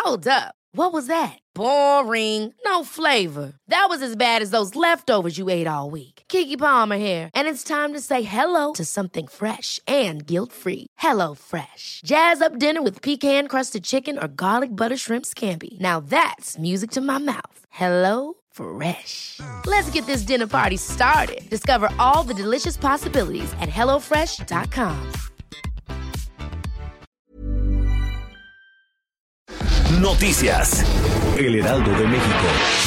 Hold up. What was that? Boring. No flavor. That was as bad as those leftovers you ate all week. Keke Palmer here. And it's time to say hello to something fresh and guilt-free. Hello Fresh. Jazz up dinner with pecan-crusted chicken or garlic butter shrimp scampi. Now that's music to my mouth. Hello Fresh. Let's get this dinner party started. Discover all the delicious possibilities at hellofresh.com. Noticias. El Heraldo de México.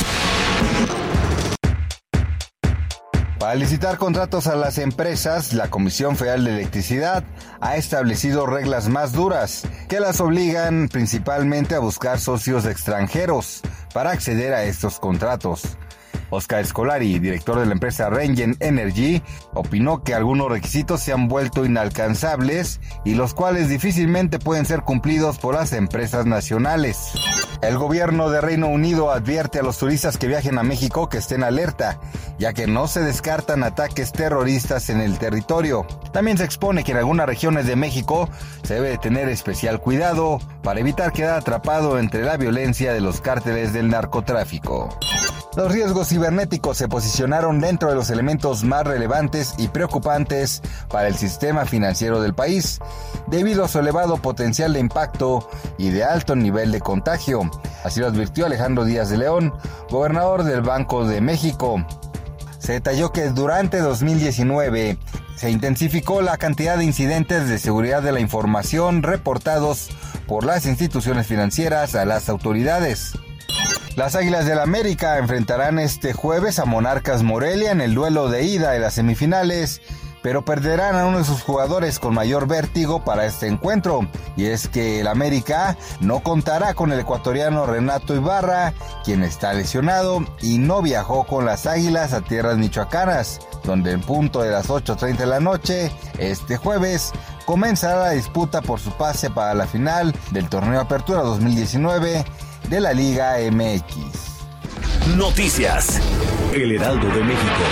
Para licitar contratos a las empresas, la Comisión Federal de Electricidad ha establecido reglas más duras que las obligan principalmente a buscar socios extranjeros para acceder a estos contratos. Oscar Scolari, director de la empresa Rengen Energy, opinó que algunos requisitos se han vuelto inalcanzables y los cuales difícilmente pueden ser cumplidos por las empresas nacionales. El gobierno de Reino Unido advierte a los turistas que viajen a México que estén alerta, ya que no se descartan ataques terroristas en el territorio. También se expone que en algunas regiones de México se debe tener especial cuidado para evitar quedar atrapado entre la violencia de los cárteles del narcotráfico. Los riesgos cibernéticos se posicionaron dentro de los elementos más relevantes y preocupantes para el sistema financiero del país, debido a su elevado potencial de impacto y de alto nivel de contagio. Así lo advirtió Alejandro Díaz de León, gobernador del Banco de México. Se detalló que durante 2019 se intensificó la cantidad de incidentes de seguridad de la información reportados por las instituciones financieras a las autoridades. Las Águilas del América enfrentarán este jueves a Monarcas Morelia en el duelo de ida de las semifinales, pero perderán a uno de sus jugadores con mayor vértigo para este encuentro, y es que el América no contará con el ecuatoriano Renato Ibarra, quien está lesionado y no viajó con las Águilas a tierras michoacanas, donde en punto de las 8:30 de la noche, este jueves, comenzará la disputa por su pase para la final del Torneo Apertura 2019 de la Liga MX. Noticias. El Heraldo de México.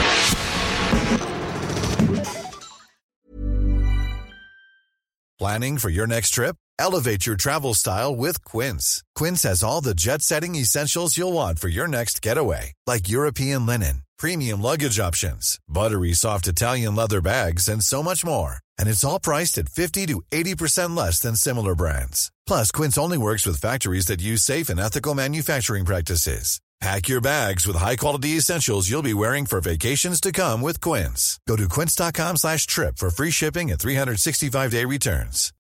Planning for your next trip? Elevate your travel style with Quince. Quince has all the jet-setting essentials you'll want for your next getaway, like European linen, premium luggage options, buttery soft Italian leather bags, and so much more. And it's all priced at 50 to 80% less than similar brands. Plus, Quince only works with factories that use safe and ethical manufacturing practices. Pack your bags with high-quality essentials you'll be wearing for vacations to come with Quince. Go to quince.com/trip for free shipping and 365-day returns.